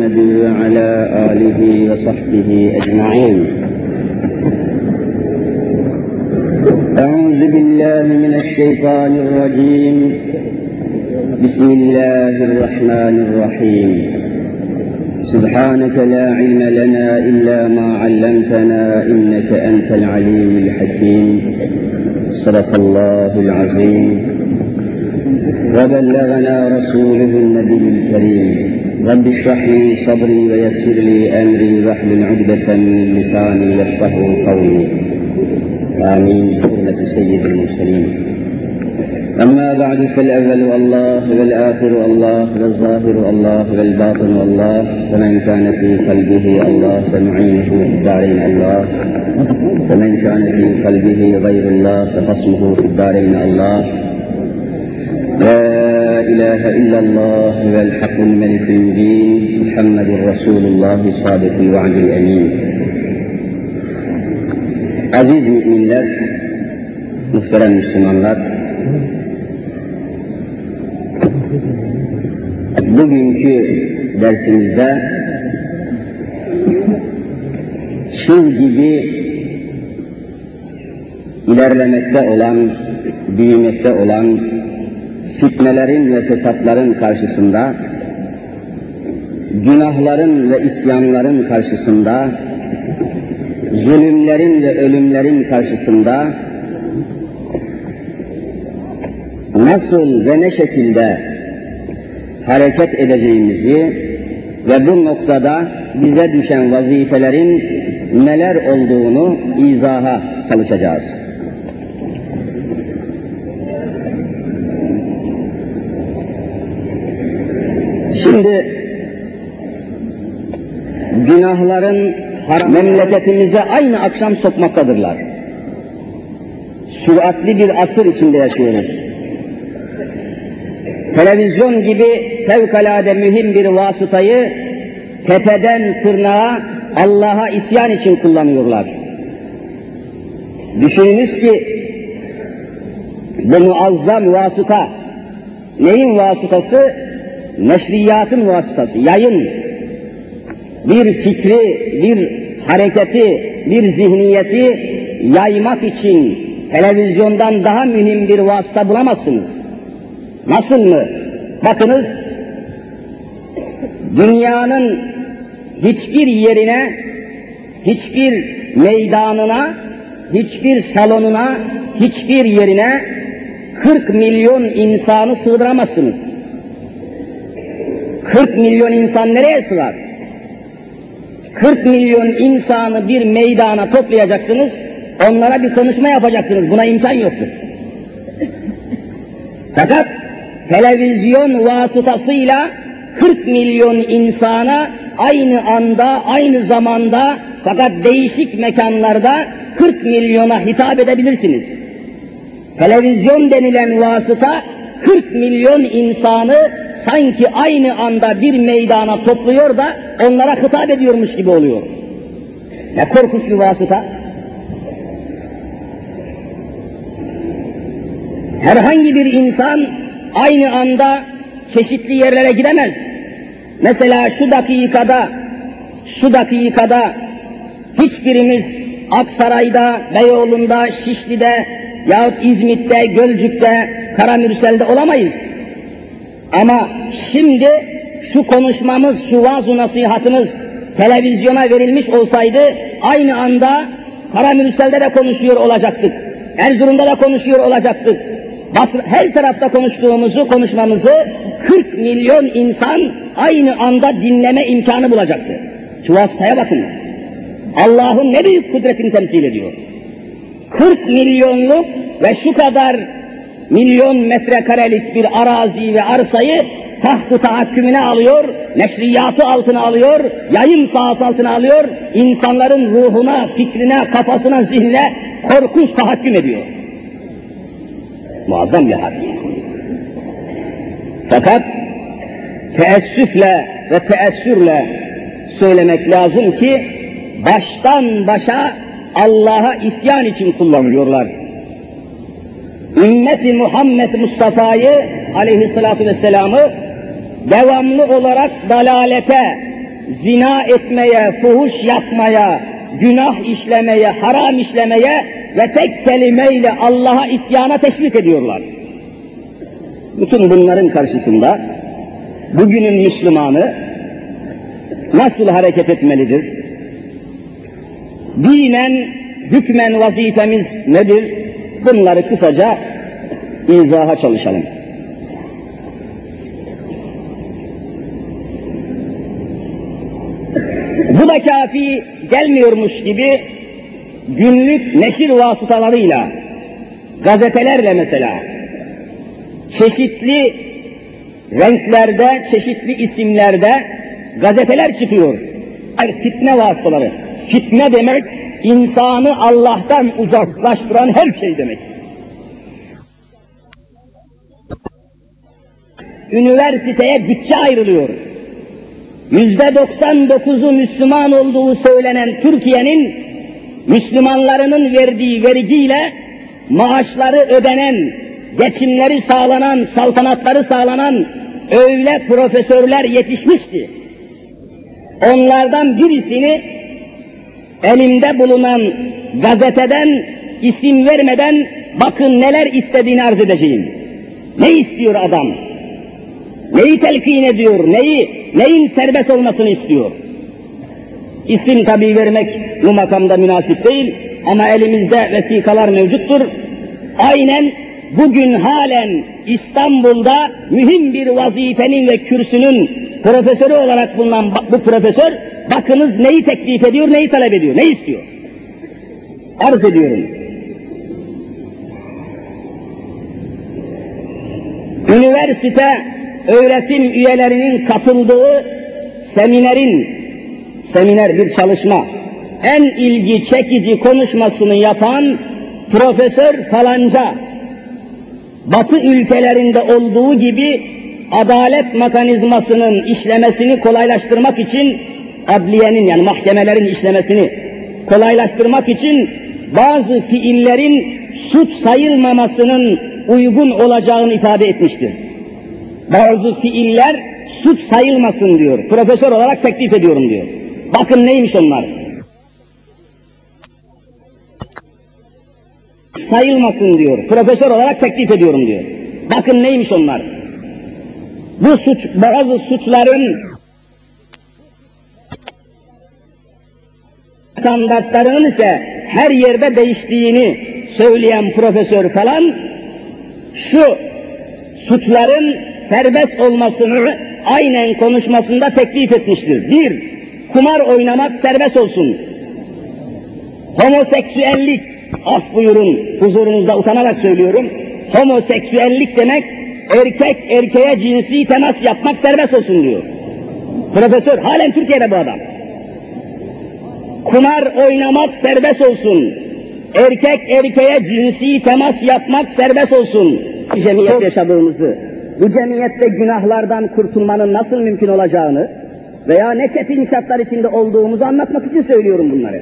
محمد وعلى آله وصحبه أجمعين. أعوذ بالله من الشيطان الرجيم. بسم الله الرحمن الرحيم. سبحانك لا علم لنا إلا ما علمتنا إنك أنت العليم الحكيم. صدق الله العظيم وبلغنا رسوله النبي الكريم. رب اشرح لي صدري ويسر لي أمري واحلل عقدة من لساني يفقهوا قولي. آمين بحرمة سيد المرسلين. أما بعد فالأول الله والآخر الله والظاهر الله والباطن الله، فمن كان في قلبه الله فمعينه في الدارين الله، ومن كان في قلبه غير الله فخصمه في الدارين الله. لا إله إلا الله والحق الملك المبين محمد رسول الله صادق الوعد الأمين. Aziz müminler, muhterem Müslümanlar, bugünkü dersimizde çığ gibi ilerlemekte olan, büyümekte olan fitnelerin ve fesatların karşısında, günahların ve isyanların karşısında, zulümlerin ve ölümlerin karşısında nasıl ve ne şekilde hareket edeceğimizi ve bu noktada bize düşen vazifelerin neler olduğunu izaha çalışacağız. Şimdi günahların memleketimize aynı akşam sokmaktadırlar. Süratli bir asır içinde yaşıyoruz. Televizyon gibi fevkalade mühim bir vasıtayı tepeden tırnağa Allah'a isyan için kullanıyorlar. Düşününüz ki bu muazzam vasıta neyin vasıtası? Neşriyatın vasıtası, yayın. Bir fikri, bir hareketi, bir zihniyeti yaymak için televizyondan daha mühim bir vasıta bulamazsınız. Nasıl mı? Bakınız, dünyanın hiçbir yerine, hiçbir meydanına, hiçbir salonuna, hiçbir yerine 40 milyon insanı sığdıramazsınız. 40 milyon insan nereye sığar? 40 milyon insanı bir meydana toplayacaksınız, onlara bir konuşma yapacaksınız. Buna imkan yoktur. Fakat televizyon vasıtasıyla 40 milyon insana aynı anda, aynı zamanda, fakat değişik mekanlarda 40 milyona hitap edebilirsiniz. Televizyon denilen vasıta 40 milyon insanı sanki aynı anda bir meydana topluyor da onlara hitap ediyormuş gibi oluyor. Ne korkunç bir vasıta. Herhangi bir insan aynı anda çeşitli yerlere gidemez. Mesela şu dakikada hiçbirimiz Aksaray'da, Beyoğlu'nda, Şişli'de yahut İzmit'te, Gölcük'te, Karamürsel'de olamayız. Ama şimdi şu konuşmamız, şu vaaz-ı nasihatımız televizyona verilmiş olsaydı aynı anda Karamürsel'de de konuşuyor olacaktık. Erzurum'da da konuşuyor olacaktık. Her tarafta konuşmamızı 40 milyon insan aynı anda dinleme imkanı bulacaktı. Şu vasıtaya bakın. Allah'ın ne büyük kudretini temsil ediyor. 40 milyonluk ve şu kadar milyon metrekarelik bir arazi ve arsayı taht-ı tahakkümüne alıyor, neşriyatı altına alıyor, yayın sahası altına alıyor, insanların ruhuna, fikrine, kafasına, zihnine korkunç tahakküm ediyor. Muazzam bir hadise. Fakat teessüfle ve teessürle söylemek lazım ki baştan başa Allah'a isyan için kullanılıyorlar. Ümmeti Muhammed Mustafa'yı aleyhissalatu vesselam'ı devamlı olarak dalalete, zina etmeye, fuhuş yapmaya, günah işlemeye, haram işlemeye ve tek kelimeyle Allah'a isyana teşvik ediyorlar. Bütün bunların karşısında bugünün Müslümanı nasıl hareket etmelidir? Dinen, hükmen vazifemiz nedir? Bunları kısaca izaha çalışalım. Bu da kafi gelmiyormuş gibi günlük neşir vasıtalarıyla, gazetelerle mesela, çeşitli renklerde, çeşitli isimlerde gazeteler çıkıyor. Fitne vasıtaları. Fitne demek, insanı Allah'tan uzaklaştıran her şey demek. Üniversiteye bütçe ayrılıyor. %99'u Müslüman olduğu söylenen Türkiye'nin Müslümanlarının verdiği vergiyle maaşları ödenen, geçimleri sağlanan, saltanatları sağlanan öyle profesörler yetişmişti. Onlardan birisini elimde bulunan gazeteden isim vermeden bakın neler istediğini arz edeceğim. Ne istiyor adam? Neyi telkin ediyor? Neyin serbest olmasını istiyor? İsim tabii vermek bu makamda münasip değil ama elimizde vesikalar mevcuttur. Aynen bugün halen İstanbul'da mühim bir vazifenin ve kürsünün profesörü olarak bulunan bu profesör, bakınız neyi teklif ediyor, neyi talep ediyor, ne istiyor? Arz ediyorum. Üniversite öğretim üyelerinin katıldığı seminer bir çalışma, en ilgi çekici konuşmasını yapan profesör falanca, Batı ülkelerinde olduğu gibi adalet mekanizmasının işlemesini kolaylaştırmak için, adliyenin yani mahkemelerin işlemesini kolaylaştırmak için bazı fiillerin suç sayılmamasının uygun olacağını ifade etmiştir. Bazı fiiller suç sayılmasın diyor. Profesör olarak teklif ediyorum diyor. Bakın neymiş onlar? Sayılmasın diyor. Profesör olarak teklif ediyorum diyor. Bakın neymiş onlar? Bu bazı suçların standartlarının ise her yerde değiştiğini söyleyen profesör falan, şu suçların serbest olmasını aynen konuşmasında teklif etmiştir. Bir, kumar oynamak serbest olsun. Homoseksüellik, af buyurun, huzurunuzda utanarak söylüyorum, homoseksüellik demek, erkek erkeğe cinsi temas yapmak serbest olsun diyor. Profesör, halen Türkiye'de bu adam. Kumar oynamak serbest olsun. Erkek erkeğe cinsi temas yapmak serbest olsun. Cemiyet yaşadığımızı, bu cemiyette günahlardan kurtulmanın nasıl mümkün olacağını veya ne çetin şartlar içinde olduğumuzu anlatmak için söylüyorum bunları.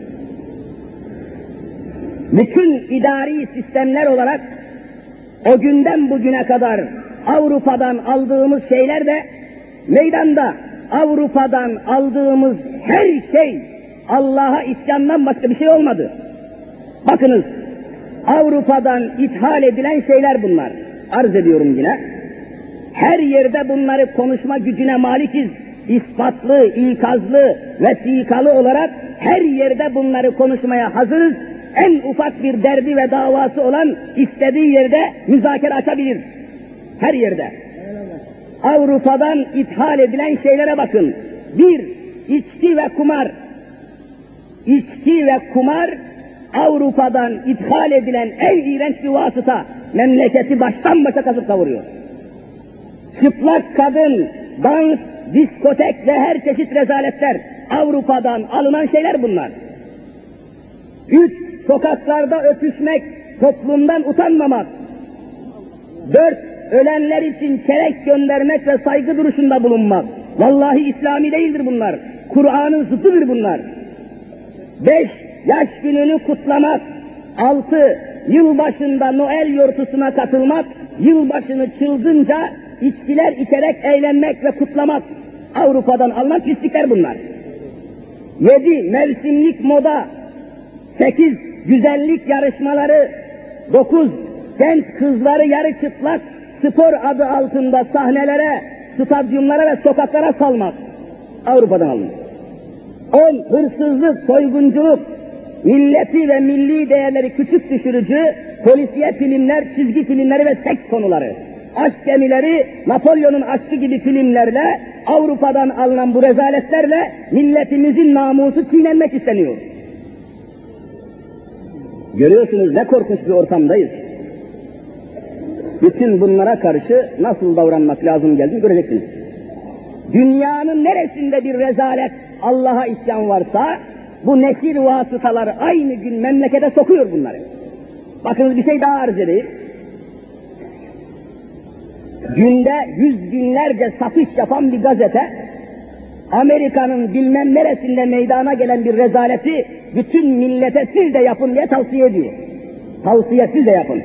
Bütün idari sistemler olarak o günden bugüne kadar Avrupa'dan aldığımız şeyler de meydanda. Avrupa'dan aldığımız her şey Allah'a isyandan başka bir şey olmadı. Bakınız, Avrupa'dan ithal edilen şeyler bunlar. Arz ediyorum yine. Her yerde bunları konuşma gücüne malikiz. İspatlı, ikazlı, vesikalı olarak her yerde bunları konuşmaya hazırız. En ufak bir derdi ve davası olan istediği yerde müzakere açabilir. Her yerde. Avrupa'dan ithal edilen şeylere bakın. Bir, içki ve kumar. İçki ve kumar Avrupa'dan ithal edilen en iğrenç bir vasıta. Memleketi baştan başa kasıp kavuruyor. Çıplak kadın, dans, diskotek ve her çeşit rezaletler Avrupa'dan alınan şeyler bunlar. Üç, sokaklarda öpüşmek, toplumdan utanmamak. Dört, ölenler için çelenk göndermek ve saygı duruşunda bulunmak. Vallahi İslami değildir bunlar. Kur'an'ın zıttıdır bunlar. 5. Yaş gününü kutlamak. 6. Yılbaşında Noel yortusuna katılmak. Yılbaşını çılgınca içkiler içerek eğlenmek ve kutlamak. Avrupa'dan alınan pislikler bunlar. 7 mevsimlik moda, 8 güzellik yarışmaları, 9 genç kızları yarı çıplak spor adı altında sahnelere, stadyumlara ve sokaklara salmak Avrupa'dan alınmış. 10 hırsızlık, soygunculuk, milleti ve milli değerleri küçük düşürücü polisiye filmler, çizgi filmleri ve seks konuları. Aşk gemileri, Napolyon'un aşkı gibi filmlerle, Avrupa'dan alınan bu rezaletlerle milletimizin namusu çiğnenmek isteniyor. Görüyorsunuz ne korkunç bir ortamdayız. Bütün bunlara karşı nasıl davranmak lazım geldiğini göreceksiniz. Dünyanın neresinde bir rezalet, Allah'a isyan varsa, bu neşir vasıtaları aynı gün memlekete sokuyor bunları. Bakınız bir şey daha arz edeyim. Günde yüz binlerce satış yapan bir gazete, Amerika'nın bilmem neresinde meydana gelen bir rezaleti bütün millete siz de yapın diye tavsiye ediyor. Tavsiye siz de yapın.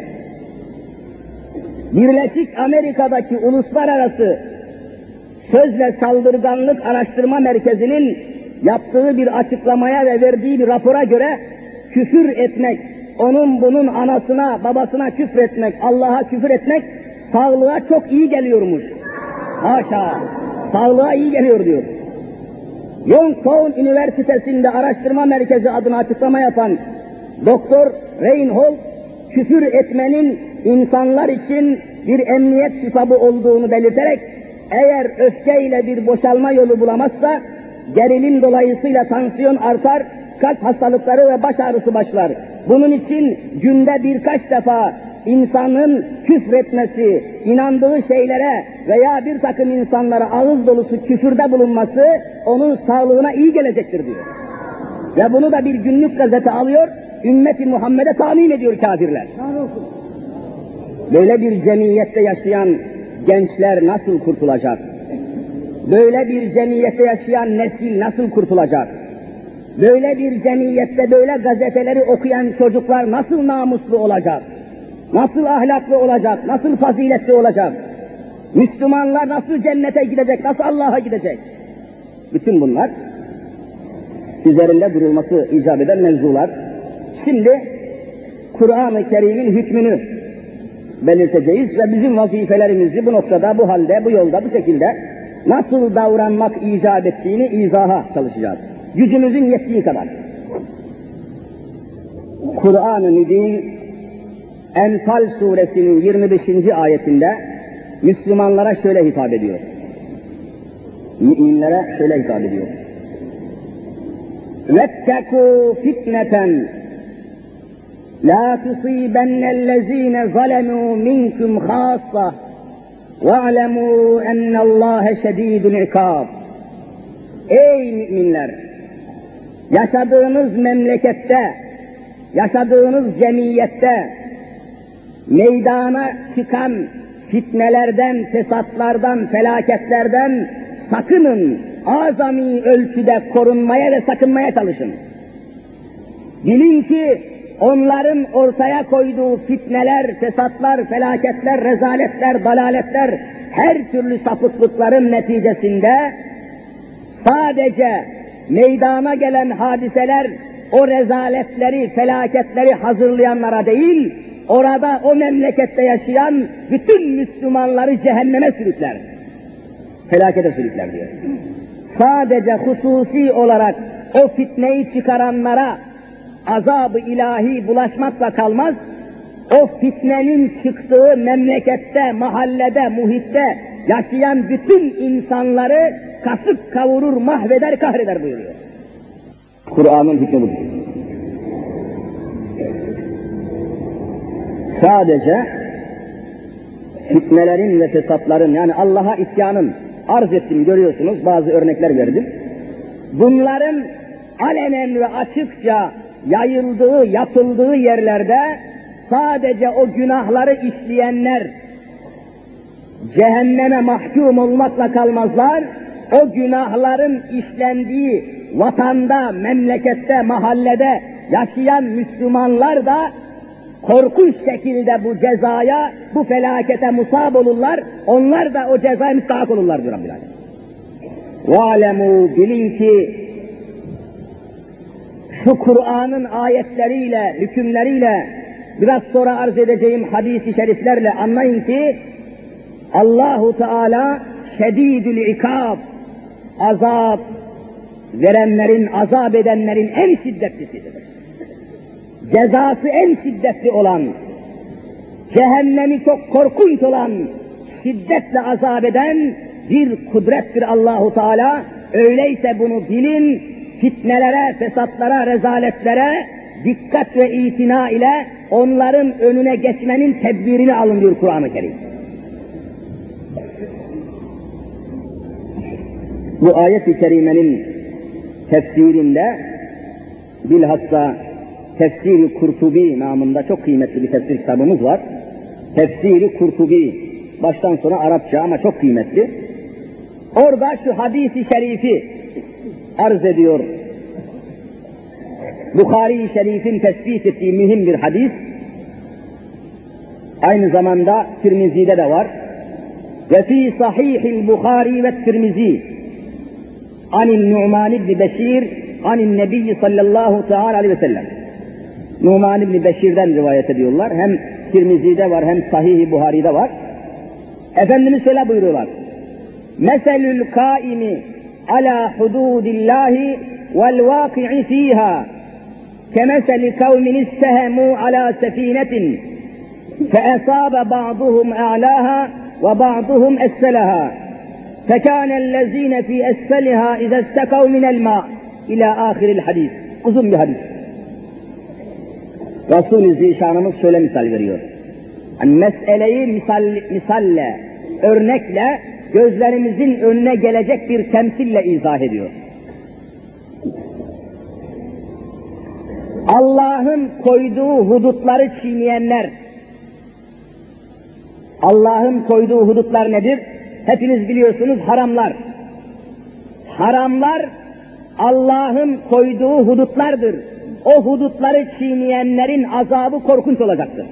Birleşik Amerika'daki uluslararası Sözle Saldırganlık Araştırma Merkezi'nin yaptığı bir açıklamaya ve verdiği bir rapora göre küfür etmek, onun bunun anasına, babasına küfür etmek, Allah'a küfür etmek sağlığa çok iyi geliyormuş. Haşa, sağlığa iyi geliyor diyor. Youngstown Üniversitesi'nde araştırma merkezi adına açıklama yapan Doktor Reinhold, küfür etmenin insanlar için bir emniyet sübabı olduğunu belirterek, eğer öfkeyle bir boşalma yolu bulamazsa, gerilim dolayısıyla tansiyon artar, kalp hastalıkları ve baş ağrısı başlar. Bunun için günde birkaç defa insanın küfretmesi, inandığı şeylere veya bir takım insanlara ağız dolusu küfürde bulunması onun sağlığına iyi gelecektir diyor. Ve bunu da bir günlük gazete alıyor, ümmeti Muhammed'e tahmin ediyor kafirler. Böyle bir cemiyette yaşayan gençler nasıl kurtulacak? Böyle bir cemiyette yaşayan nesil nasıl kurtulacak? Böyle bir cemiyette böyle gazeteleri okuyan çocuklar nasıl namuslu olacak? Nasıl ahlaklı olacak? Nasıl faziletli olacak? Müslümanlar nasıl cennete gidecek? Nasıl Allah'a gidecek? Bütün bunlar üzerinde durulması icap eden mevzular. Şimdi Kur'an-ı Kerim'in hükmünü belirteceğiz ve bizim vazifelerimizi bu noktada, bu halde, bu yolda, bu şekilde nasıl davranmak icap ettiğini izaha çalışacağız. Gücümüzün yettiği kadar. Kur'an-ı Mübin Enfal suresinin 25. ayetinde Müslümanlara şöyle hitap ediyor. Müminlere şöyle hitap ediyor. وَاتَّقُوا فِتْنَةً لَا تُصِيبَنَّ الَّذ۪ينَ ظَلَمُوا مِنْكُمْ خَاصَّةً وَاعْلَمُوا اَنَّ اللّٰهَ شَد۪يدُ الْعِقَابِ. Ey müminler! Yaşadığınız memlekette, yaşadığınız cemiyette meydana çıkan fitnelerden, fesatlardan, felaketlerden sakının, azami ölçüde korunmaya ve sakınmaya çalışın. Bilin ki onların ortaya koyduğu fitneler, fesatlar, felaketler, rezaletler, dalaletler, her türlü sapıklıkların neticesinde sadece meydana gelen hadiseler o rezaletleri, felaketleri hazırlayanlara değil, orada o memlekette yaşayan bütün Müslümanları cehenneme sürükler. Felakete sürükler diyor. Sadece hususi olarak o fitneyi çıkaranlara azab-ı ilahi bulaşmakla kalmaz, o fitnenin çıktığı memlekette, mahallede, muhitte yaşayan bütün insanları kasıp kavurur, mahveder, kahreder buyuruyor. Kur'an'ın hükmü budur. Sadece fitnelerin ve fesatların, yani Allah'a isyanın arz ettim, görüyorsunuz, bazı örnekler verdim. Bunların alenen ve açıkça yayıldığı, yapıldığı yerlerde sadece o günahları işleyenler cehenneme mahkum olmakla kalmazlar, o günahların işlendiği vatanda, memlekette, mahallede yaşayan Müslümanlar da korkunç şekilde bu cezaya, bu felakete musab olurlar, onlar da o cezaya müstahak olurlar diyor Rabbül Alem. وَعَلَمُوا bilin ki şu Kur'an'ın ayetleriyle, hükümleriyle, biraz sonra arz edeceğim hadis-i şeriflerle anlayın ki Allahu Teala şedîdül ikâb, azap verenlerin, azap edenlerin en şiddetlisidir. Cezası en şiddetli olan, cehennemi çok korkunç olan, şiddetle azap eden bir kudrettir Allahu Teala. Öyleyse bunu bilin, fitnelere, fesatlara, rezaletlere dikkat ve itina ile onların önüne geçmenin tedbirini alın diyor Kur'an-ı Kerim. Bu ayet-i kerimenin tefsirinde bilhassa Tefsir-i Kurtubi namında çok kıymetli bir tefsir kitabımız var. Tefsir-i Kurtubi, baştan sona Arapça ama çok kıymetli. Orada şu hadis-i şerifi arz ediyor. Bukhari-i Şerif'in tespit ettiği mühim bir hadis. Aynı zamanda Tirmizi'de de var. Ve fî sahîhil Bukhari ve Tirmizi anil Nu'man ibn Beşir anil Nebiyyi sallallahu teâlâ aleyhi ve sellem. Nu'man ibn Beşir'den rivayet ediyorlar. Hem Tirmizi'de var hem Sahih-i Buhari'de var. Efendimiz şöyle buyuruyorlar. Meselül kâimi alâ hudûdillâhi vel vâki'i fîhâ kemeseli kavmin istehemû alâ sefînetin feesâbe ba'duhum a'lâhâ ve ba'duhum esselaha fekânellezîne fî esselihâ izestekav minel mâ ilâ âhiril hadis. Uzun bir hadis. Resul-i Zişanımız şöyle misal veriyor. Yani meseleyi misalle, örnekle, gözlerimizin önüne gelecek bir temsille izah ediyor. Allah'ın koyduğu hudutları çiğneyenler, Allah'ın koyduğu hudutlar nedir? Hepiniz biliyorsunuz, haramlar. Haramlar Allah'ın koyduğu hudutlardır. O hudutları çiğneyenlerin azabı korkunç olacaktır.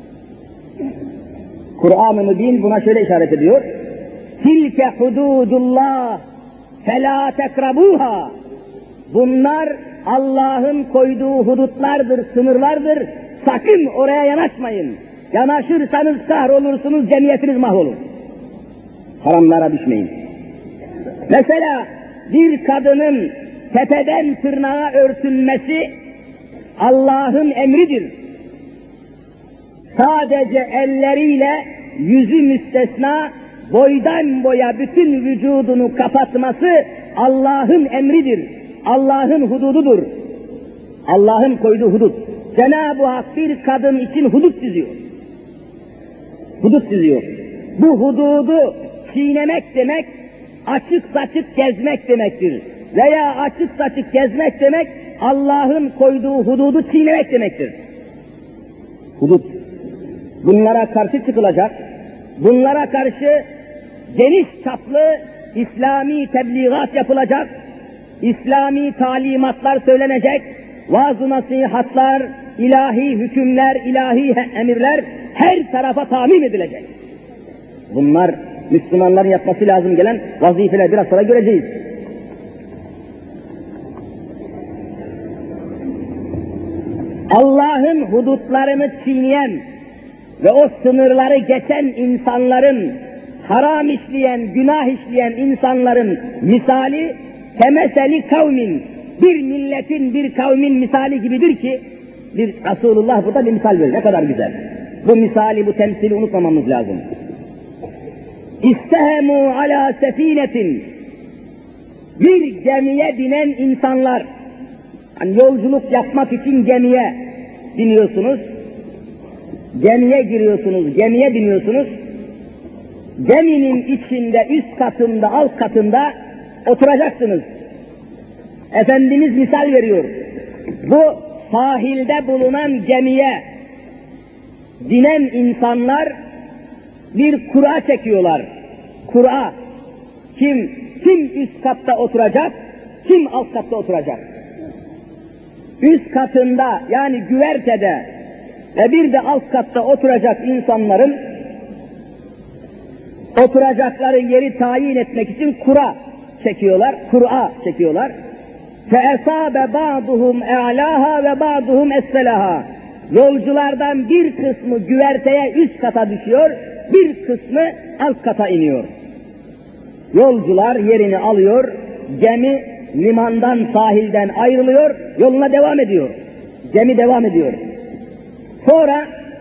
Kur'an-ı Mübin buna şöyle işaret ediyor. Tilke hududullah felâ tekrabuha. Bunlar Allah'ın koyduğu hudutlardır, sınırlardır. Sakın oraya yanaşmayın. Yanaşırsanız kahrolursunuz, cemiyetiniz mahvolur. Haramlara düşmeyin. Mesela bir kadının tepeden tırnağa örtünmesi Allah'ın emridir. Sadece elleriyle yüzü müstesna boydan boya bütün vücudunu kapatması Allah'ın emridir. Allah'ın hudududur. Allah'ın koyduğu hudut. Cenab-ı Hak bir kadın için hudut çiziyor. Hudut çiziyor. Bu hududu çiğnemek demek, açık saçık gezmek demektir. Veya açık saçık gezmek demek, Allah'ın koyduğu hududu çiğnemek demektir. Hudut. Bunlara karşı çıkılacak, bunlara karşı geniş çaplı İslami tebliğat yapılacak, İslami talimatlar söylenecek, vaaz-ı nasihatlar, ilahi hükümler, ilahi emirler her tarafa tamim edilecek. Bunlar Müslümanların yapması lazım gelen vazifeler, biraz sonra göreceğiz. Allah'ın hudutlarını çiğneyen ve o sınırları geçen insanların, haram işleyen, günah işleyen insanların misali kemeseli kavmin, bir milletin, bir kavmin misali gibidir ki, bir Resulullah burada bir misal veriyor. Ne kadar güzel. Bu misali, bu temsili unutmamamız lazım. İstehemû alâ sefînetin, bir gemiye binen insanlar, hani yolculuk yapmak için gemiye biniyorsunuz, gemiye giriyorsunuz, gemiye biniyorsunuz, geminin içinde, üst katında, alt katında oturacaksınız. Efendimiz misal veriyor. Bu sahilde bulunan gemiye binen insanlar bir kura çekiyorlar. Kura. Kim üst katta oturacak, kim alt katta oturacak? Üst katında, yani güvertede ve bir de alt katta oturacak insanların oturacakları yeri tayin etmek için kura çekiyorlar, Kur'a çekiyorlar. فَاَصَابَ بَعْضُهُمْ اَعْلَاهَا وَبَعْضُهُمْ اَسْفَلَهَا. Yolculardan bir kısmı güverteye üst kata düşüyor, bir kısmı alt kata iniyor. Yolcular yerini alıyor, gemi limandan, sahilden ayrılıyor, yoluna devam ediyor. Gemi devam ediyor. Sonra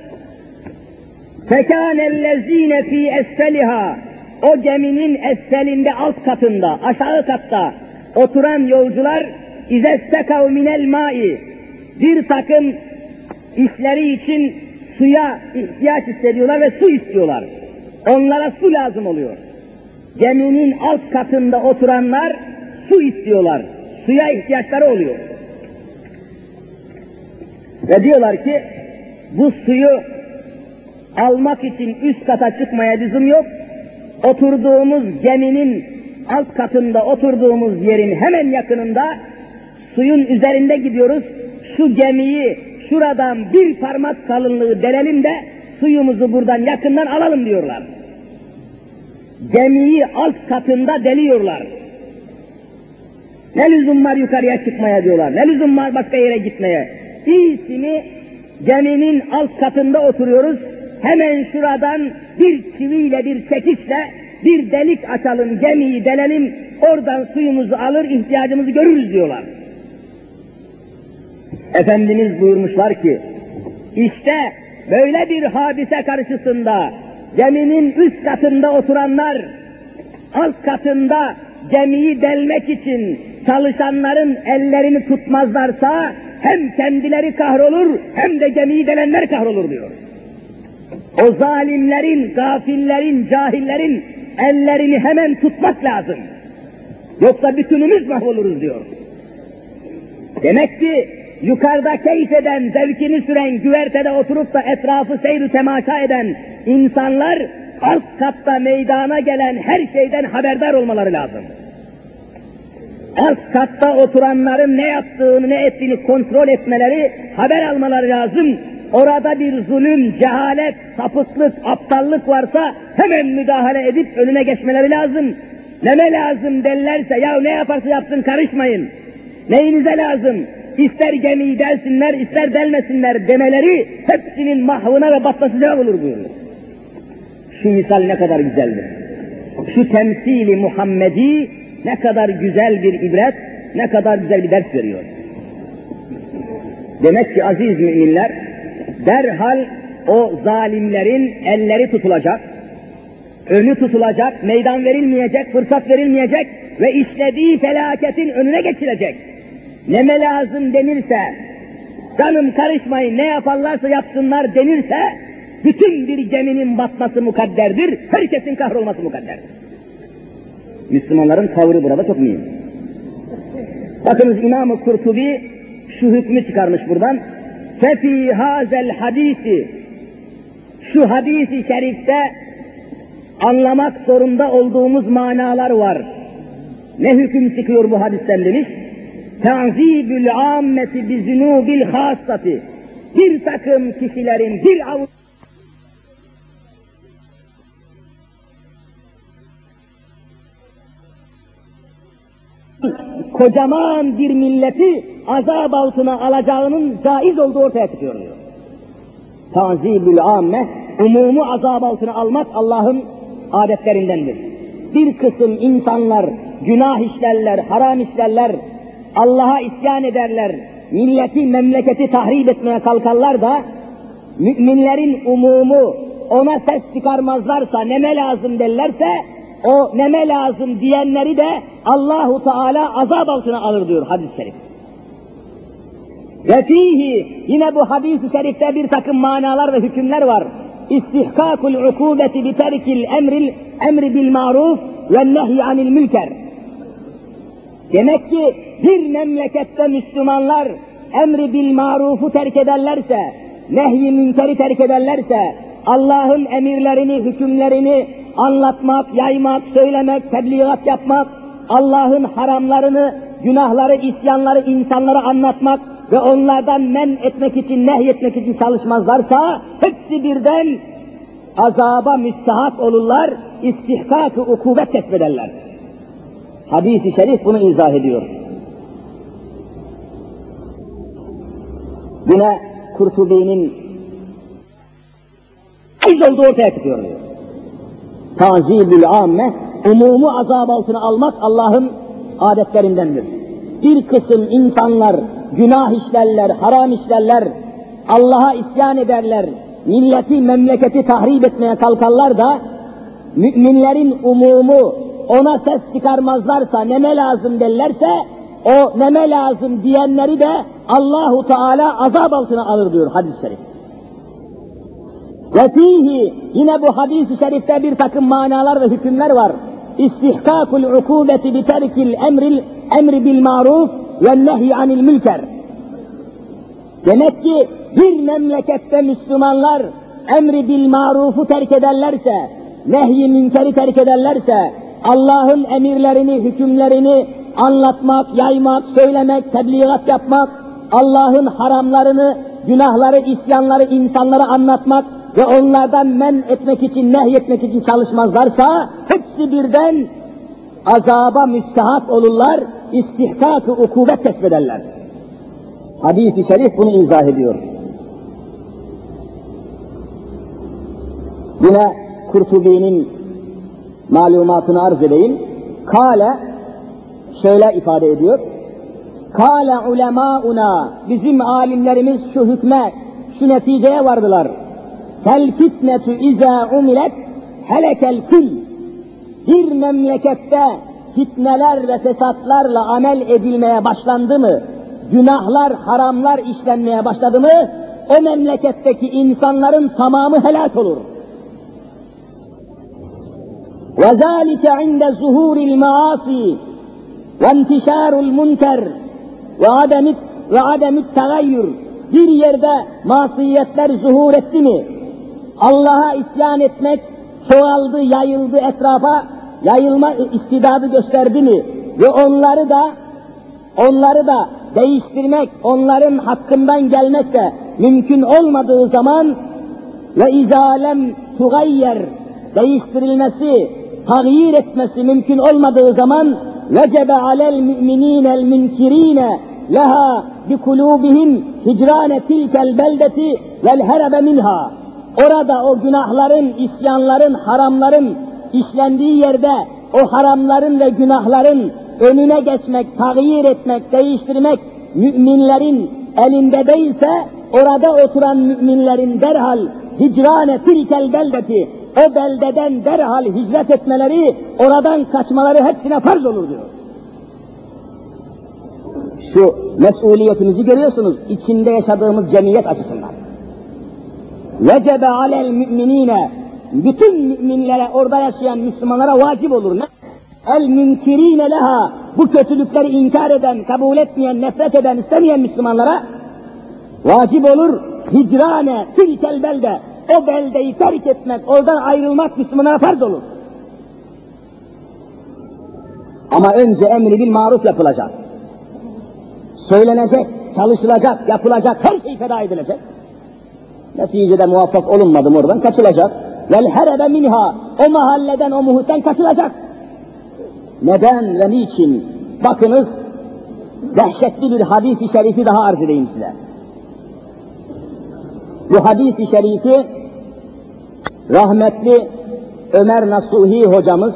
فَكَانَ الَّذ۪ينَ ف۪ي اَسْفَلِهَا. O geminin esfelinde, alt katında, aşağı katta oturan yolcular اِذَسْتَكَوْ مِنَ الْمَاءِ. Bir takım işleri için suya ihtiyaç hissediyorlar ve su istiyorlar. Onlara su lazım oluyor. Geminin alt katında oturanlar su istiyorlar. Suya ihtiyaçları oluyor. Ve diyorlar ki bu suyu almak için üst kata çıkmaya lüzum yok. Oturduğumuz geminin alt katında oturduğumuz yerin hemen yakınında suyun üzerinde gidiyoruz. Şu gemiyi şuradan bir parmak kalınlığı delelim de suyumuzu buradan yakından alalım diyorlar. Gemiyi alt katında deliyorlar. Ne lüzum var yukarıya çıkmaya diyorlar. Ne lüzum var başka yere gitmeye. İyisini geminin alt katında oturuyoruz. Hemen şuradan bir çiviyle, bir çekiçle bir delik açalım, gemiyi delelim, oradan suyumuzu alır, ihtiyacımızı görürüz diyorlar. Efendimiz buyurmuşlar ki, işte böyle bir hadise karşısında geminin üst katında oturanlar, alt katında gemiyi delmek için çalışanların ellerini tutmazlarsa hem kendileri kahrolur hem de gemiyi delenler kahrolur diyor. O zalimlerin, gafillerin, cahillerin ellerini hemen tutmak lazım. Yoksa bütünümüz mahvoluruz diyor. Demek ki yukarıda keyif eden, zevkini süren, güvertede oturup da etrafı seyr-i temaşa eden insanlar alt katta meydana gelen her şeyden haberdar olmaları lazım. Alt katta oturanların ne yaptığını, ne ettiğini kontrol etmeleri, haber almaları lazım. Orada bir zulüm, cehalet, sapıklık, aptallık varsa hemen müdahale edip önüne geçmeleri lazım. Neme lazım derlerse, ya ne yaparsa yapsın karışmayın. Neyinize lazım? İster gemiyi delsinler, ister delmesinler demeleri hepsinin mahvına ve batmasına olur buyuruyor. Şu misal ne kadar güzeldir. Şu temsili Muhammedi ne kadar güzel bir ibret, ne kadar güzel bir ders veriyor. Demek ki aziz müminler, derhal o zalimlerin elleri tutulacak, önü tutulacak, meydan verilmeyecek, fırsat verilmeyecek ve işlediği felaketin önüne geçilecek. Neme lazım denirse, canım karışmayın ne yaparlarsa yapsınlar denirse, bütün bir geminin batması mukadderdir, herkesin kahrolması mukadderdir. Müslümanların tavrı burada çok mühim. Bakınız İmam-ı Kurtubi şu hükmü çıkarmış buradan. فَفِي هَذَا الْحَد۪يسِ. Şu hadis-i şerifte anlamak zorunda olduğumuz manalar var. Ne hüküm çıkıyor bu hadisten demiş? تَعْزِيبُ الْعَامَّةِ بِذُنُوبِ الْخَاصَّةِ. Bir takım kişilerin, bir avuç kocaman bir milleti azap altına alacağının caiz olduğu ortaya çıkıyor diyor. Tazibül amme, umumu azap altına almak Allah'ın adetlerindendir. Bir kısım insanlar günah işlerler, haram işlerler, Allah'a isyan ederler, milleti, memleketi tahrip etmeye kalkarlar da müminlerin umumu ona ses çıkarmazlarsa, neme lazım derlerse, o neme lazım diyenleri de Allahu Teala azap altına alır diyor hadis-i şerif. Ve fihi, yine bu hadis-i şerifte bir takım manalar ve hükümler var. İstihkâkul ukûbeti bi terkil emri bil maruf ve nehy anil münker. Demek ki bir memlekette Müslümanlar emri bil marufu terk ederlerse, nehy-i münkeri terk ederlerse, Allah'ın emirlerini, hükümlerini anlatmak, yaymak, söylemek, tebliğat yapmak, Allah'ın haramlarını, günahları, isyanları insanlara anlatmak ve onlardan men etmek için, nehyetmek için çalışmazlarsa, hepsi birden azaba müstahak olurlar, istihkak-ı ukubet kesbederler. Hadis-i şerif bunu izah ediyor. Yine Kurtubi'nin olduğu ortaya çıkıyor diyor. Tazibül amme, umumu azab altına almak Allah'ın adetlerindendir. Bir kısım insanlar günah işlerler, haram işlerler, Allah'a isyan ederler, milleti, memleketi tahrip etmeye kalkarlar da müminlerin umumu ona ses çıkarmazlarsa, neme lazım derlerse, o neme lazım diyenleri de Allahu Teala azap altına alır diyor hadis-i şerif. Ve fihi, yine bu hadis-i şerifte bir takım manalar ve hükümler var. İstihkâkul ukûbeti bi terkil emri bil maruf ve nehy anil mülker. Demek ki bir memlekette Müslümanlar emri bil marufu terk ederlerse, nehy-i münkeri terk ederlerse, Allah'ın emirlerini, hükümlerini anlatmak, yaymak, söylemek, tebliğat yapmak, Allah'ın haramlarını, günahları, isyanları insanlara anlatmak ve onlardan men etmek için, nehyetmek için çalışmazlarsa, hepsi birden azaba müstehak olurlar, istihkak-ı ukubet kesbederler. Hadis-i şerif bunu izah ediyor. Yine Kurtubi'nin malumatını arz edeyim. Kâle, şöyle ifade ediyor. Kâle ulemâuna, bizim alimlerimiz şu hükme, şu neticeye vardılar. Fel fitnetu izâ umilet helekel kül. Bir memlekette fitneler ve fesatlarla amel edilmeye başlandı mı, günahlar, haramlar işlenmeye başladı mı, o memleketteki insanların tamamı helak olur. وَذَٰلِكَ عِنْدَ زُهُورِ الْمَعَاصِي وَانْتِشَارُ الْمُنْكَرِ وَعَدَمِ التَّغَيُّرِ. Bir yerde masiyetler zuhur etti mi, Allah'a isyan etmek çoğaldı, yayıldı etrafa, yayılma istidadı gösterdi mi ve onları da değiştirmek, onların hakkından gelmek de mümkün olmadığı zaman ve izalem tugayyer, değiştirilmesi, tagyir etmesi mümkün olmadığı zaman vecebe alel müminînel münkirîne leha bi kulûbihim hicrâne tilkel beldeti vel herebe minha. Orada o günahların, isyanların, haramların işlendiği yerde o haramların ve günahların önüne geçmek, tagyir etmek, değiştirmek müminlerin elinde değilse, orada oturan müminlerin derhal hicrâne tilkel beldeti, o beldeden derhal hicret etmeleri, oradan kaçmaları hepsine farz olur diyor. Şu mesuliyetimizi görüyorsunuz, içinde yaşadığımız cemiyet açısından. Vecebe alel müminine, bütün müminlere, orada yaşayan Müslümanlara vacip olur. El münkirine leha, bu kötülükleri inkar eden, kabul etmeyen, nefret eden, istemeyen Müslümanlara vacip olur. Hicrane tilkel belde, o beldeyi terk etmek, oradan ayrılmak Müslümanlara farz olur. Ama önce emri bil maruf yapılacak. Söylenecek, çalışılacak, yapılacak, her şey feda edilecek. Neticede muvaffak olunmadı mı oradan kaçılacak. Vel herebe minha, o mahalleden, o muhitten kaçılacak. Neden ve niçin? Bakınız, dehşetli bir hadis-i şerifi daha arz edeyim size. Bu hadis-i şerifi rahmetli Ömer Nasuhi hocamız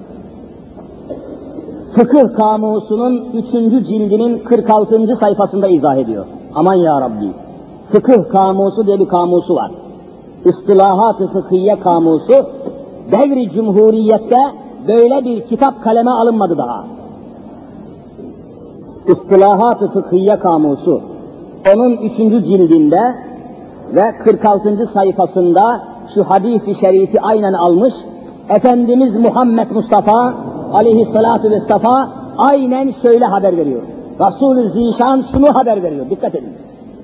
Fıkıh Kamusu'nun 3. cildinin 46. sayfasında izah ediyor. Aman ya Rabbi! Fıkıh Kamusu diye bir kamusu var. İstilahat-ı Fıkhiye Kamusu, devri Cumhuriyet'te böyle bir kitap kaleme alınmadı daha. İstilahat-ı Fıkhiye Kamusu, onun 3. cildinde ve 46. sayfasında şu hadis-i şerifi aynen almış, Efendimiz Muhammed Mustafa aleyhissalatu vesselam aynen şöyle haber veriyor. Resulü Zişan şunu haber veriyor, dikkat edin.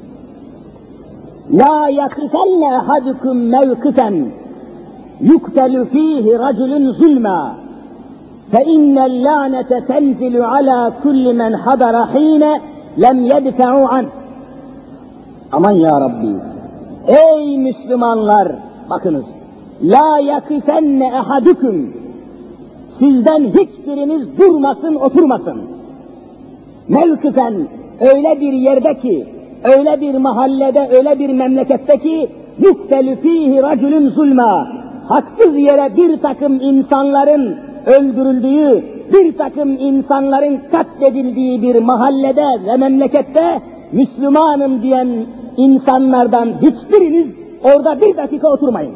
La yakifenne ahadukum mevkifen yuktelu fihi raculun zulma fe innel lanete tenzilu ala kulli men hadara hine lem yedfe'u an. Aman ya Rabbi! Ey Müslümanlar! Bakınız! La yakifenne ahadukum, sizden hiçbiriniz durmasın, oturmasın. Mevkıfen öyle bir yerde ki, öyle bir mahallede, öyle bir memlekette ki yuktelü fîhî racülün zulmâ, haksız yere bir takım insanların öldürüldüğü, bir takım insanların katledildiği bir mahallede ve memlekette Müslümanım diyen insanlardan hiçbiriniz orada bir dakika oturmayın.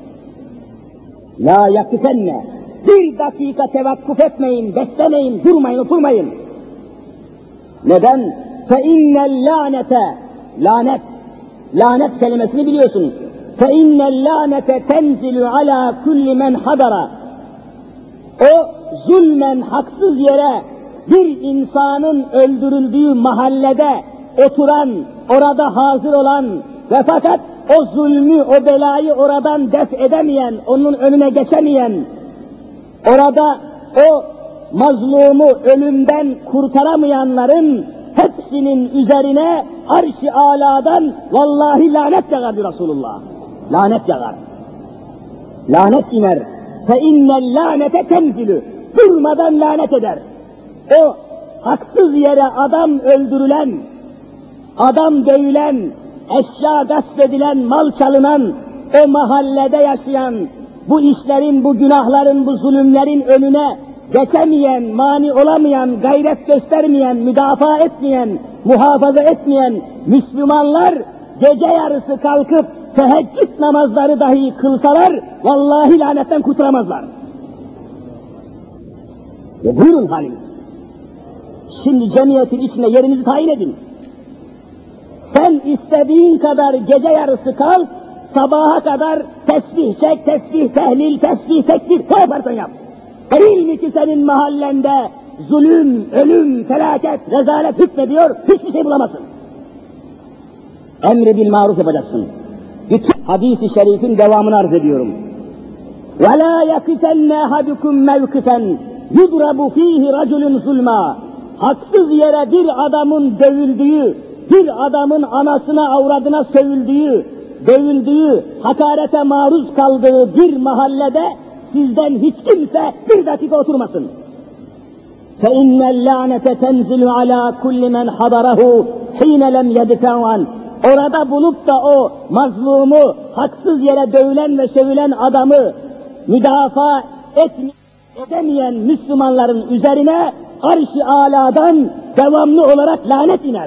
La yakifenne, bir dakika tevakkuf etmeyin, beklemeyin, durmayın, oturmayın. Neden? فَاِنَّ اللّٰنَةَ, lanet kelimesini biliyorsunuz. فَاِنَّ اللّٰنَةَ تَنْزِلُ عَلَى كُلِّ مَنْ حَضَرَ. O zulmen haksız yere bir insanın öldürüldüğü mahallede oturan, orada hazır olan ve fakat o zulmü, o belayı oradan def edemeyen, onun önüne geçemeyen, orada o mazlumu ölümden kurtaramayanların hepsinin üzerine arş-ı âlâdan vallahi lanet yağar diyor Resulullah. Lanet yağar. Lanet iner. فَاِنَّ اللّٰنَةَ تَنْزِلُ. Durmadan lanet eder. O haksız yere adam öldürülen, adam dövülen, eşya gasp edilen, mal çalınan, o mahallede yaşayan, bu işlerin, bu günahların, bu zulümlerin önüne geçemeyen, mani olamayan, gayret göstermeyen, müdafaa etmeyen, muhafaza etmeyen Müslümanlar gece yarısı kalkıp teheccüd namazları dahi kılsalar, vallahi lanetten kurtulamazlar. Ve buyurun halimiz. Şimdi cemiyetin içine yerinizi tayin edin. Sen istediğin kadar gece yarısı kal, sabaha kadar tesbih çek, tesbih tehlil, tesbih tekbir, ne yaparsan yap. Değil mi ki senin mahallende zulüm, ölüm, felaket, rezalet hükmediyor, hiçbir şey bulamazsın. Emri bil maruf yapacaksın. Bütün hadis-i şerifin devamını arz ediyorum. وَلَا يَقِتَنَّ اَحَدُكُمْ مَوْقِفًا يُضْرَبُ ف۪يهِ رَجُلٌ ظُلْمًا. Haksız yere bir adamın dövüldüğü, bir adamın anasına, avradına sövüldüğü, dövüldüğü, hakarete maruz kaldığı bir mahallede sizden hiç kimse bir dakika oturmasın. فَاِنَّ اللّٰنَةَ تَنْزِلُ عَلَى كُلِّ مَنْ حَضَرَهُ حِينَ لَمْ يَدْفَعُ. Orada bulup da o mazlumu, haksız yere dövülen ve sövülen adamı müdafaa edemeyen Müslümanların üzerine arş-ı âlâdan devamlı olarak lanet iner.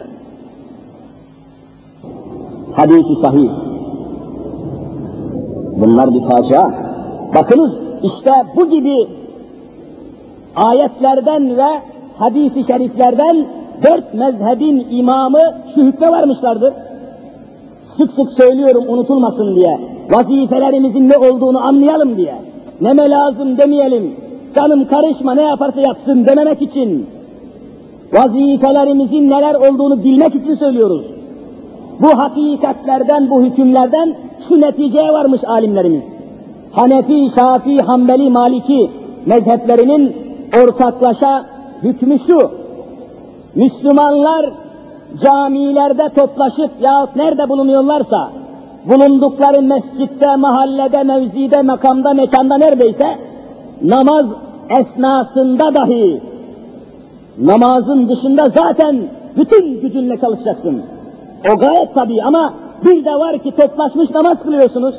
Hadis-i sahih. Bunlar bir facia. Bakınız işte bu gibi ayetlerden ve hadis-i şeriflerden 4 mezhebin imamı şu hükme varmışlardır. Sık sık söylüyorum unutulmasın diye, vazifelerimizin ne olduğunu anlayalım diye, neme lazım demeyelim, canım karışma ne yaparsa yapsın dememek için, vazifelerimizin neler olduğunu bilmek için söylüyoruz. Bu hakikatlerden, bu hükümlerden şu neticeye varmış alimlerimiz. Hanefi, Şafii, Hanbeli, Maliki mezheplerinin ortaklaşa hükmü şu: Müslümanlar camilerde toplaşıp yahut nerede bulunuyorlarsa, bulundukları mescitte, mahallede, mevzide, makamda, mekanda neredeyse, namaz esnasında dahi, namazın dışında zaten bütün gücünle çalışacaksın. O gayet tabii ama bir de var ki toplaşmış namaz kılıyorsunuz.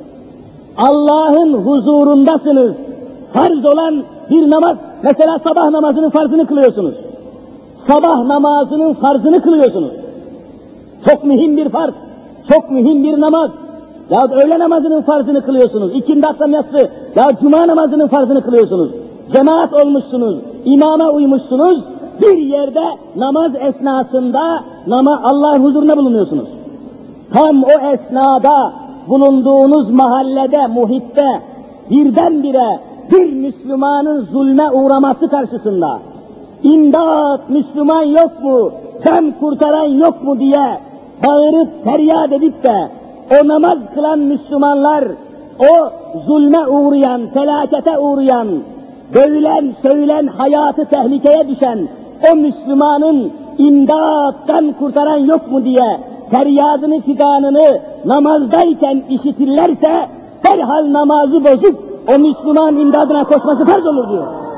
Allah'ın huzurundasınız. Farz olan bir namaz, mesela sabah namazının farzını kılıyorsunuz. Sabah namazının farzını kılıyorsunuz. Çok mühim bir farz, çok mühim bir namaz. Ya öğle namazının farzını kılıyorsunuz. İkindi akşam yatsı, ya cuma namazının farzını kılıyorsunuz. Cemaat olmuşsunuz, imama uymuşsunuz. Bir yerde namaz esnasında Allah'ın huzuruna bulunuyorsunuz. Tam o esnada bulunduğunuz mahallede, muhitte birdenbire bir Müslümanın zulme uğraması karşısında İmdat, Müslüman yok mu, can kurtaran yok mu diye bağırıp feryat edip de o namaz kılan Müslümanlar, o zulme uğrayan, felakete uğrayan, dövülen, söylenen, hayatı tehlikeye düşen o Müslümanın imdat, can kurtaran yok mu diye feryadını, figanını namazdayken işitirlerse derhal namazı bozup o Müslüman imdadına koşması farz olur diyor.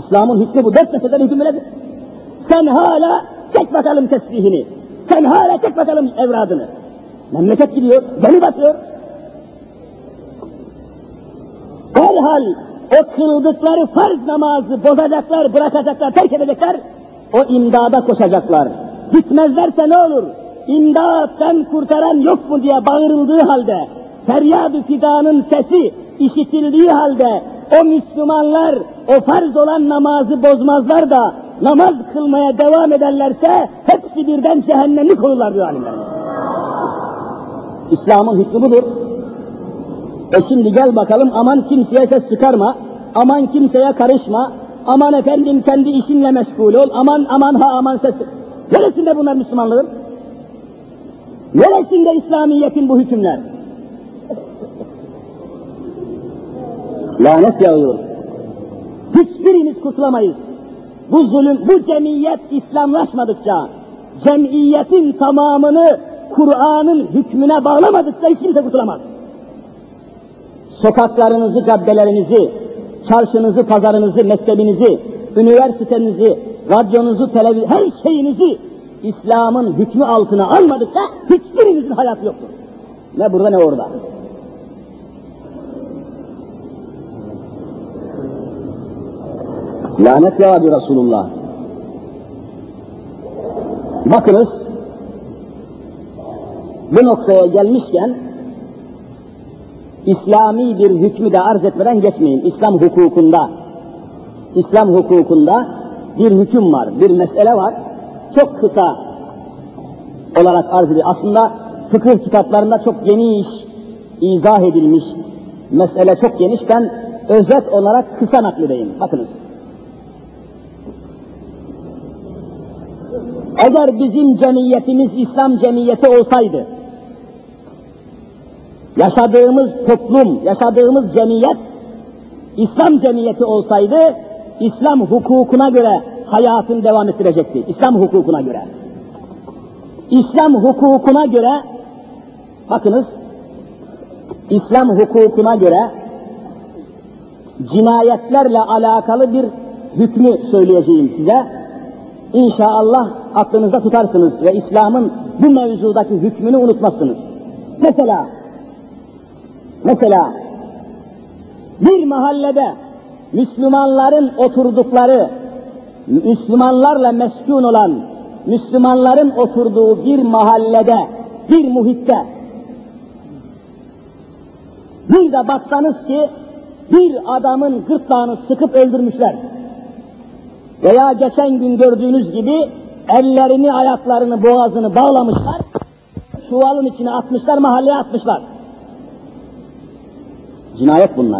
İslam'ın hükmü bu. 4 meseleden hüküm böyledir. Sen hala çek bakalım tesbihini. Sen hala çek bakalım evradını. Memleket gidiyor, gemi batıyor. Derhal o kıldıkları farz namazı bozacaklar, bırakacaklar, terk edecekler. O imdada koşacaklar. Gitmezlerse ne olur? İmdattan kurtaran yok mu diye bağırıldığı halde, feryad-ı figanın sesi işitildiği halde, o Müslümanlar o farz olan namazı bozmazlar da namaz kılmaya devam ederlerse hepsi birden cehennemlik olurlar diyor alimler. İslam'ın hükmü budur. Şimdi gel bakalım, aman kimseye ses çıkarma, aman kimseye karışma, aman efendim kendi işinle meşgul ol, aman ses. Neresinde bunlar Müslümanlığın? Neresinde İslamiyet'in bu hükümler? Lanet yağıyor. Hiçbirimiz kurtulamayız. Bu zulüm, bu cemiyet İslamlaşmadıkça, cemiyetin tamamını Kur'an'ın hükmüne bağlamadıkça hiç kimse kurtulamaz. Sokaklarınızı, caddelerinizi, çarşınızı, pazarınızı, mektebinizi, üniversitenizi, radyonuzu, her şeyinizi İslam'ın hükmü altına almadıkça hiçbirinizin hayatı yoktur. Ne burada ne orada. Lanet ya Rabbi Resulullah. Bakınız, bu noktaya gelmişken İslami bir hükmü de arz etmeden geçmeyin. İslam hukukunda bir hüküm var, bir mesele var. Çok kısa olarak arz edilir. Aslında fıkıh kitaplarında çok geniş izah edilmiş, mesele çok geniş. Ben özet olarak kısa nakledeyim. Bakınız. Eğer bizim cemiyetimiz İslam cemiyeti olsaydı, yaşadığımız toplum, yaşadığımız cemiyet İslam cemiyeti olsaydı, İslam hukukuna göre hayatını devam ettirecekti. İslam hukukuna göre. İslam hukukuna göre, bakınız, İslam hukukuna göre cinayetlerle alakalı bir hükmü söyleyeceğim size. İnşallah aklınızda tutarsınız ve İslam'ın bu mevzudaki hükmünü unutmazsınız. Mesela bir mahallede Müslümanların oturdukları, Müslümanlarla meskun olan, Müslümanların oturduğu bir mahallede, bir muhitte bir de baksanız ki bir adamın gırtlağını sıkıp öldürmüşler. Veya geçen gün gördüğünüz gibi ellerini, ayaklarını, boğazını bağlamışlar, çuvalın içine atmışlar, mahalleye atmışlar. Cinayet bunlar.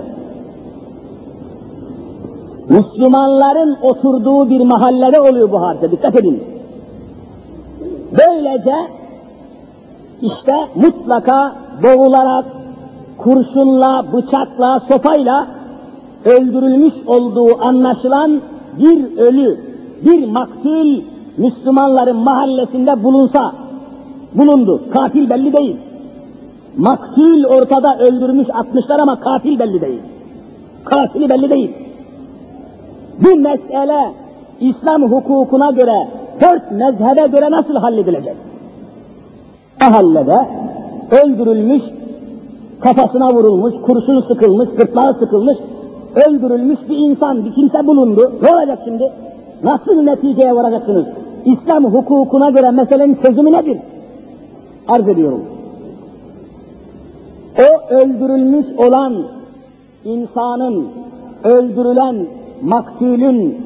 Müslümanların oturduğu bir mahallede oluyor bu hadise, dikkat edin. Böylece işte mutlaka boğularak, kurşunla, bıçakla, sopayla öldürülmüş olduğu anlaşılan bir ölü, bir maktul Müslümanların mahallesinde bulundu. Katil belli değil. Maktul ortada, öldürmüş, atmışlar ama katil belli değil. Katili belli değil. Bu mesele İslam hukukuna göre, 4 mezhebe göre nasıl halledilecek? Mahallede öldürülmüş, kafasına vurulmuş, kurşun sıkılmış, gırtlağı sıkılmış, öldürülmüş bir insan, bir kimse bulundu. Ne olacak şimdi? Nasıl neticeye varacaksınız? İslam hukukuna göre meselenin çözümü nedir? Arz ediyorum. O öldürülmüş olan insanın, öldürülen maktulün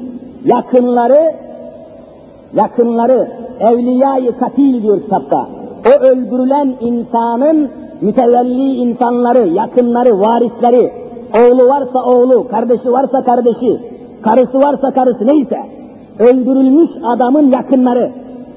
yakınları, evliya-i katil diyor kitapta. O öldürülen insanın mütevelli insanları, yakınları, varisleri, oğlu varsa oğlu, kardeşi varsa kardeşi, karısı varsa karısı, neyse, öldürülmüş adamın yakınları,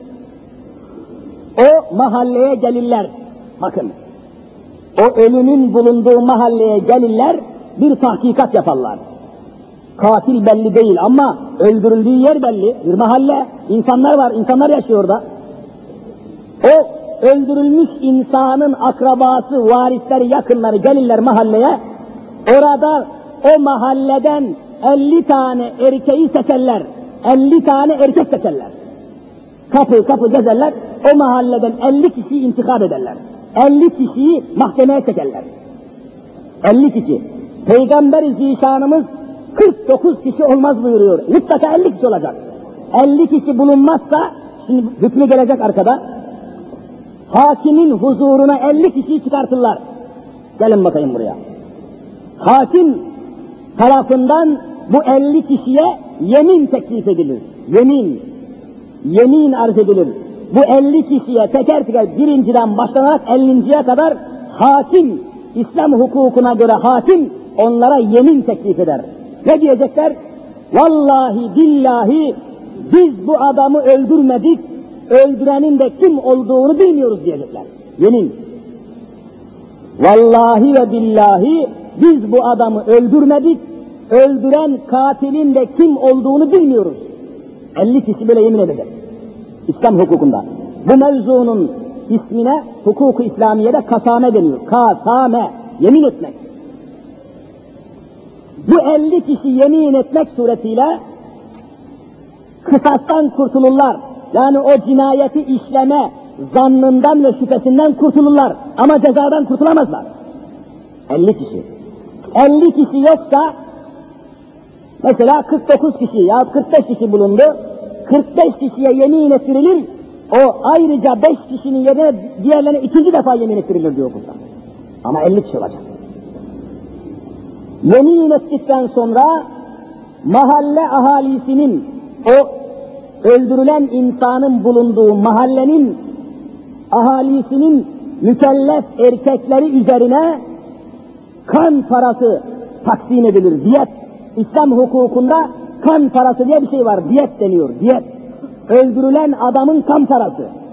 o mahalleye gelirler. Bakın, o ölünün bulunduğu mahalleye gelirler, bir tahkikat yaparlar. Katil belli değil ama öldürüldüğü yer belli, bir mahalle, insanlar var, insanlar yaşıyor orada. O öldürülmüş insanın akrabası, varisleri, yakınları gelirler mahalleye, orada o mahalleden 50 tane erkeği seçerler. 50 tane erkek seçerler. Kapı kapı gezerler, o mahalleden 50 kişiyi intikap ederler. 50 kişiyi mahkemeye çekerler. 50 kişi. Peygamber-i Zişanımız 49 kişi olmaz buyuruyor. Mutlaka 50 kişi olacak. 50 kişi bulunmazsa, şimdi hükmü gelecek arkada, hakimin huzuruna 50 kişiyi çıkartırlar. Gelin bakayım buraya. Hakim tarafından bu 50 kişiye yemin teklif edilir. Yemin arz edilir. Bu 50 kişiye teker teker birinciden başlanarak 50'ye kadar hakim, İslam hukukuna göre hakim onlara yemin teklif eder. Ne diyecekler? Vallahi billahi biz bu adamı öldürmedik, öldürenin de kim olduğunu bilmiyoruz diyecekler. Yemin. Vallahi ve billahi biz bu adamı öldürmedik, öldüren katilin de kim olduğunu bilmiyoruz. 50 kişi böyle yemin edecek. İslam hukukunda. Bu mevzunun ismine hukuk-u İslamiye'de kasame deniyor. Kasame, yemin etmek. Bu 50 kişi yemin etmek suretiyle kısastan kurtulurlar. Yani o cinayeti işleme zannından ve şüphesinden kurtulurlar. Ama cezadan kurtulamazlar. 50 kişi. 50 kişi yoksa, mesela 49 kişi ya 45 kişi bulundu, 45 kişiye yemin ettirilir, o ayrıca 5 kişinin yerine diğerlerine ikinci defa yemin ettirilir diyor burada. Ama 50 kişi olacak. Yemin ettikten sonra mahalle ahalisinin, o öldürülen insanın bulunduğu mahallenin ahalisinin mükellef erkekleri üzerine kan parası taksim edilir, diyet. İslam hukukunda kan parası diye bir şey var, diyet deniyor, diyet. Öldürülen adamın kan parası.